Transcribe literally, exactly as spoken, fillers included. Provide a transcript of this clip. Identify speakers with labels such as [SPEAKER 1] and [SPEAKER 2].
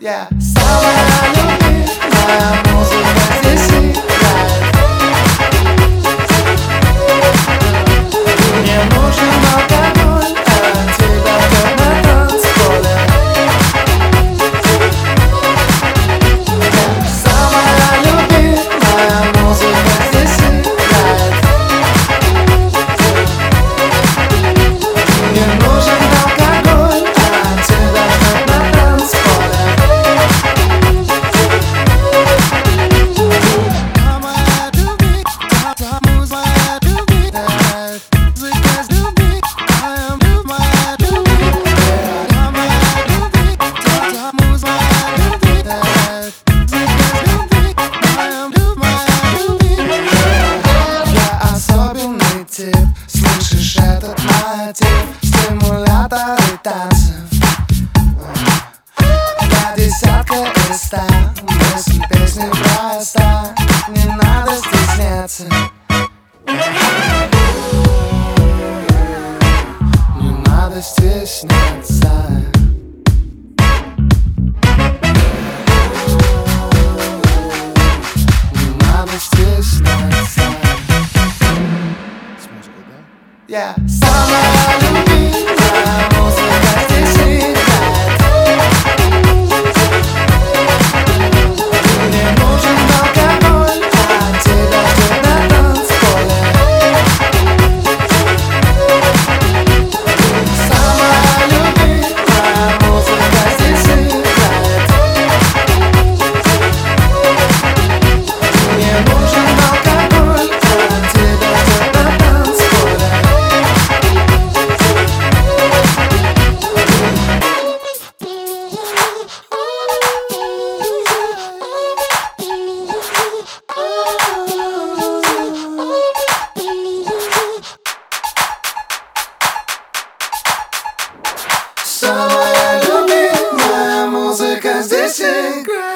[SPEAKER 1] Yeah. Самая любимая музыка здесь играет. Мне нужен алкоголь, а тебя как на танцполе. Yeah. Самая любимая музыка здесь играет. Мне нужен алкоголь, а тебя как на танцполе. Слышишь этот мотив, стимуляторы танцев. Я десятка из ста, мысль песни проста, не надо стесняться. Не надо стесняться. Не надо стесняться. Yeah. Самая любимая музыка здесь играет. Мне нужен алкоголь, а тебя ждет на танцполе. Самая любимая музыка здесь играет. Мне нужен алкоголь, а тебя ждет на танцполе. Самая любимая музыка здесь играет.